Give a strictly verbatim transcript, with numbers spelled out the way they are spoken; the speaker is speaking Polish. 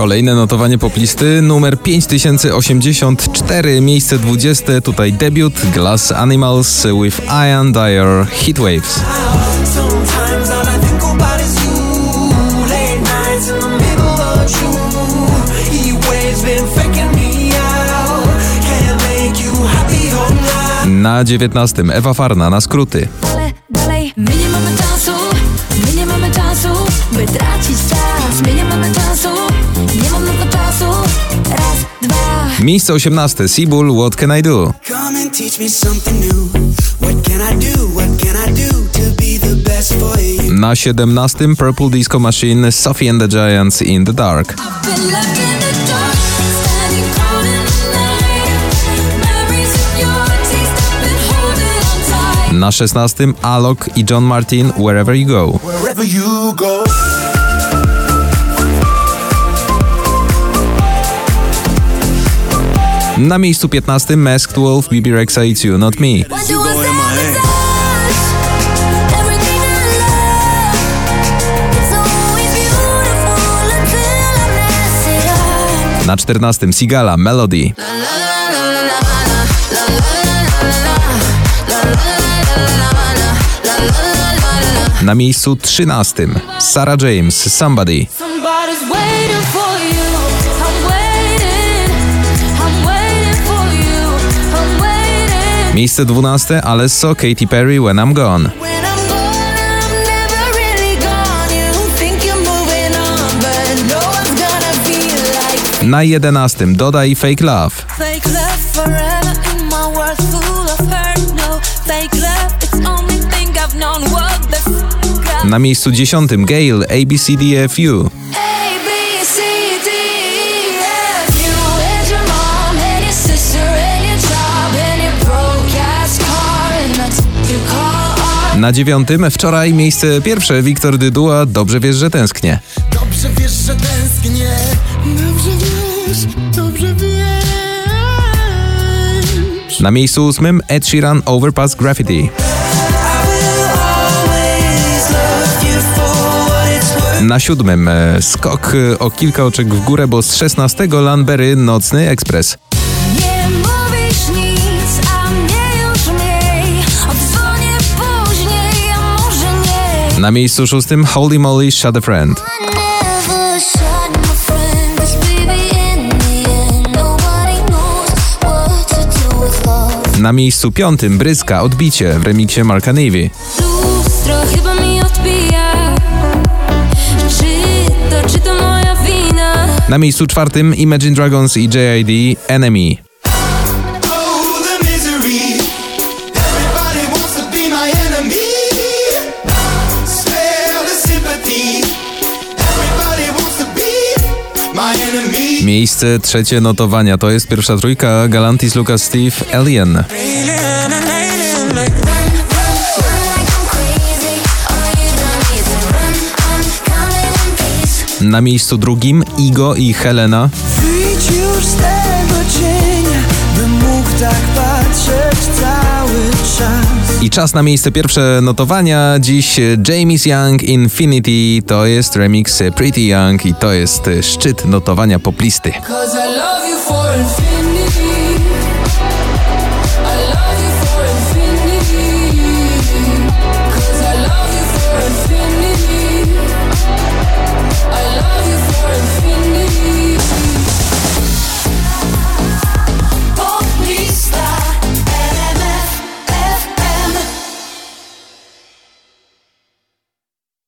Kolejne notowanie poplisty, numer pięć tysięcy osiemdziesiąt cztery, miejsce dwudzieste, tutaj debiut Glass Animals with Ian Dyer, Heatwaves. Na dziewiętnastym Ewa Farna, Na skróty. Dalej, my nie mamy czasu, my nie mamy czasu, by tracić czas, my nie mamy czasu, nie mam na to czasu, raz, dwa. Miejsce osiemnaste Seabull, What Can I Do. Na siedemnastym Purple Disco Machine, Sophie and the Giants, In the Dark. Na szesnastym Alok i John Martin, Wherever You Go. Wherever you go. Na miejscu piętnastym Masked Wolf, B B Rexha, It's You Not Me. Na czternastym Sigala, Melody. Na miejscu trzynastym Sarah James, Somebody. Miejsce dwunaste Alesso, Katy Perry, When I'm Gone. Na jedenastym Doda i Fake Love. Na miejscu dziesiątym Gayle, A B C D F U. Na dziewiątym wczoraj miejsce pierwsze Wiktor Dyduła, Dobrze wiesz, że tęsknię. Dobrze wiesz, że tęsknię. Dobrze wiesz, dobrze wiesz. Na miejscu ósmym Ed Sheeran, Overpass Graffiti. Na siódmym skok o kilka oczek w górę, bo z szesnastego Lanberry, Nocny Ekspres. Nie mówisz nic, a mnie już mniej. Odzwonię później, a może nie. Na miejscu szóstym Holy Moly, Shut a Friend. Na miejscu piątym Bryska, Odbicie w remiksie Marka Navy. Lustro chyba mi odbija. Na miejscu czwartym Imagine Dragons i J I D, Enemy. Miejsce trzecie notowania to jest pierwsza trójka Galantis, Lucas Steve, Alien. Na miejscu drugim Igo i Helena. Wyjdź już z tego cienia, bym mógł tak patrzeć cały czas. I czas na miejsce pierwsze notowania. Dziś James Young, Infinity, to jest remix Pretty Young i to jest szczyt notowania poplisty.